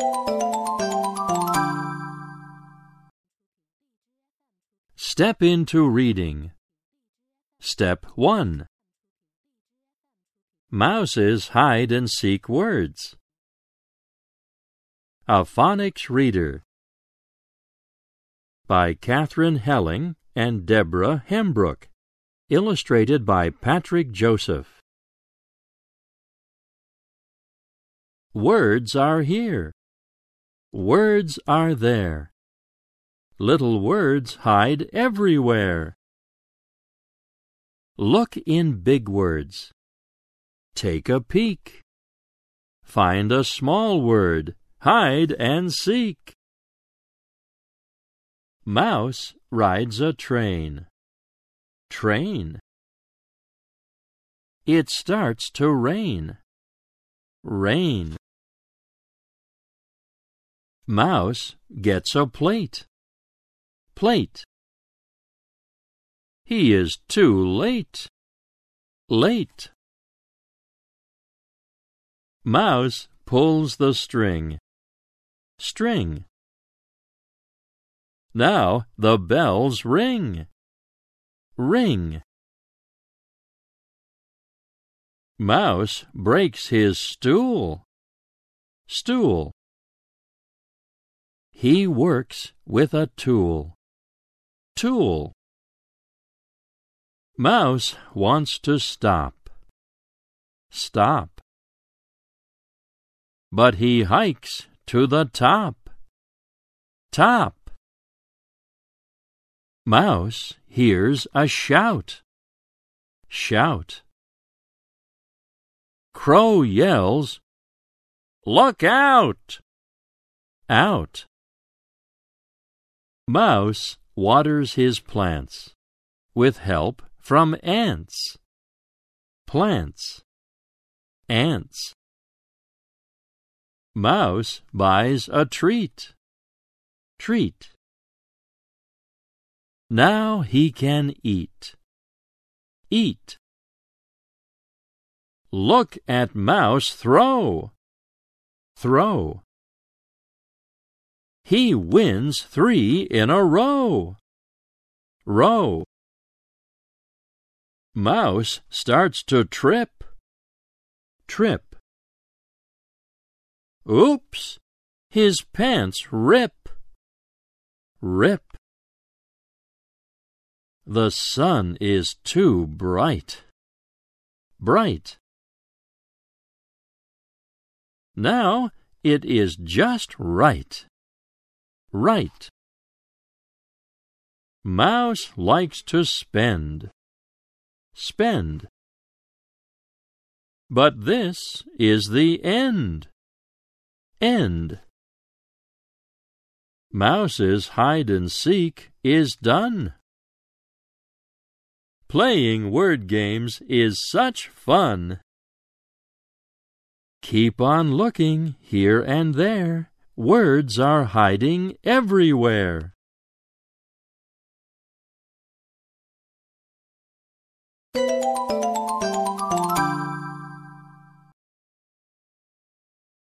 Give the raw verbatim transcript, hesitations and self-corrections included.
Step into reading. Step one. Mouses hide and seek words. A Phonics Reader by Catherine Helling and Deborah Hembrook. Illustrated by Patrick Joseph. Words are here. Words are there. Little words hide everywhere. Look in big words. Take a peek. Find a small word. Hide and seek. Mouse rides a train. Train. It starts to rain. Rain. Mouse gets a plate. Plate. He is too late. Late. Mouse pulls the string. String. Now the bells ring. Ring. Mouse breaks his stool. Stool. He works with a tool. Tool. Mouse wants to stop. Stop. But he hikes to the top. Top. Mouse hears a shout. Shout. Crow yells, "Look out!" Out. Mouse waters his plants with help from ants. Plants. Ants. Mouse buys a treat. Treat. Now he can eat. Eat. Look at Mouse throw. Throw. He wins three in a row. Row. Mouse starts to trip. Trip. Oops! His pants rip. Rip. The sun is too bright. Bright. Now it is just right. Right. Mouse likes to spend. Spend. But this is the end. End. Mouse's hide and seek is done. Playing word games is such fun. Keep on looking here and there. Words are hiding everywhere.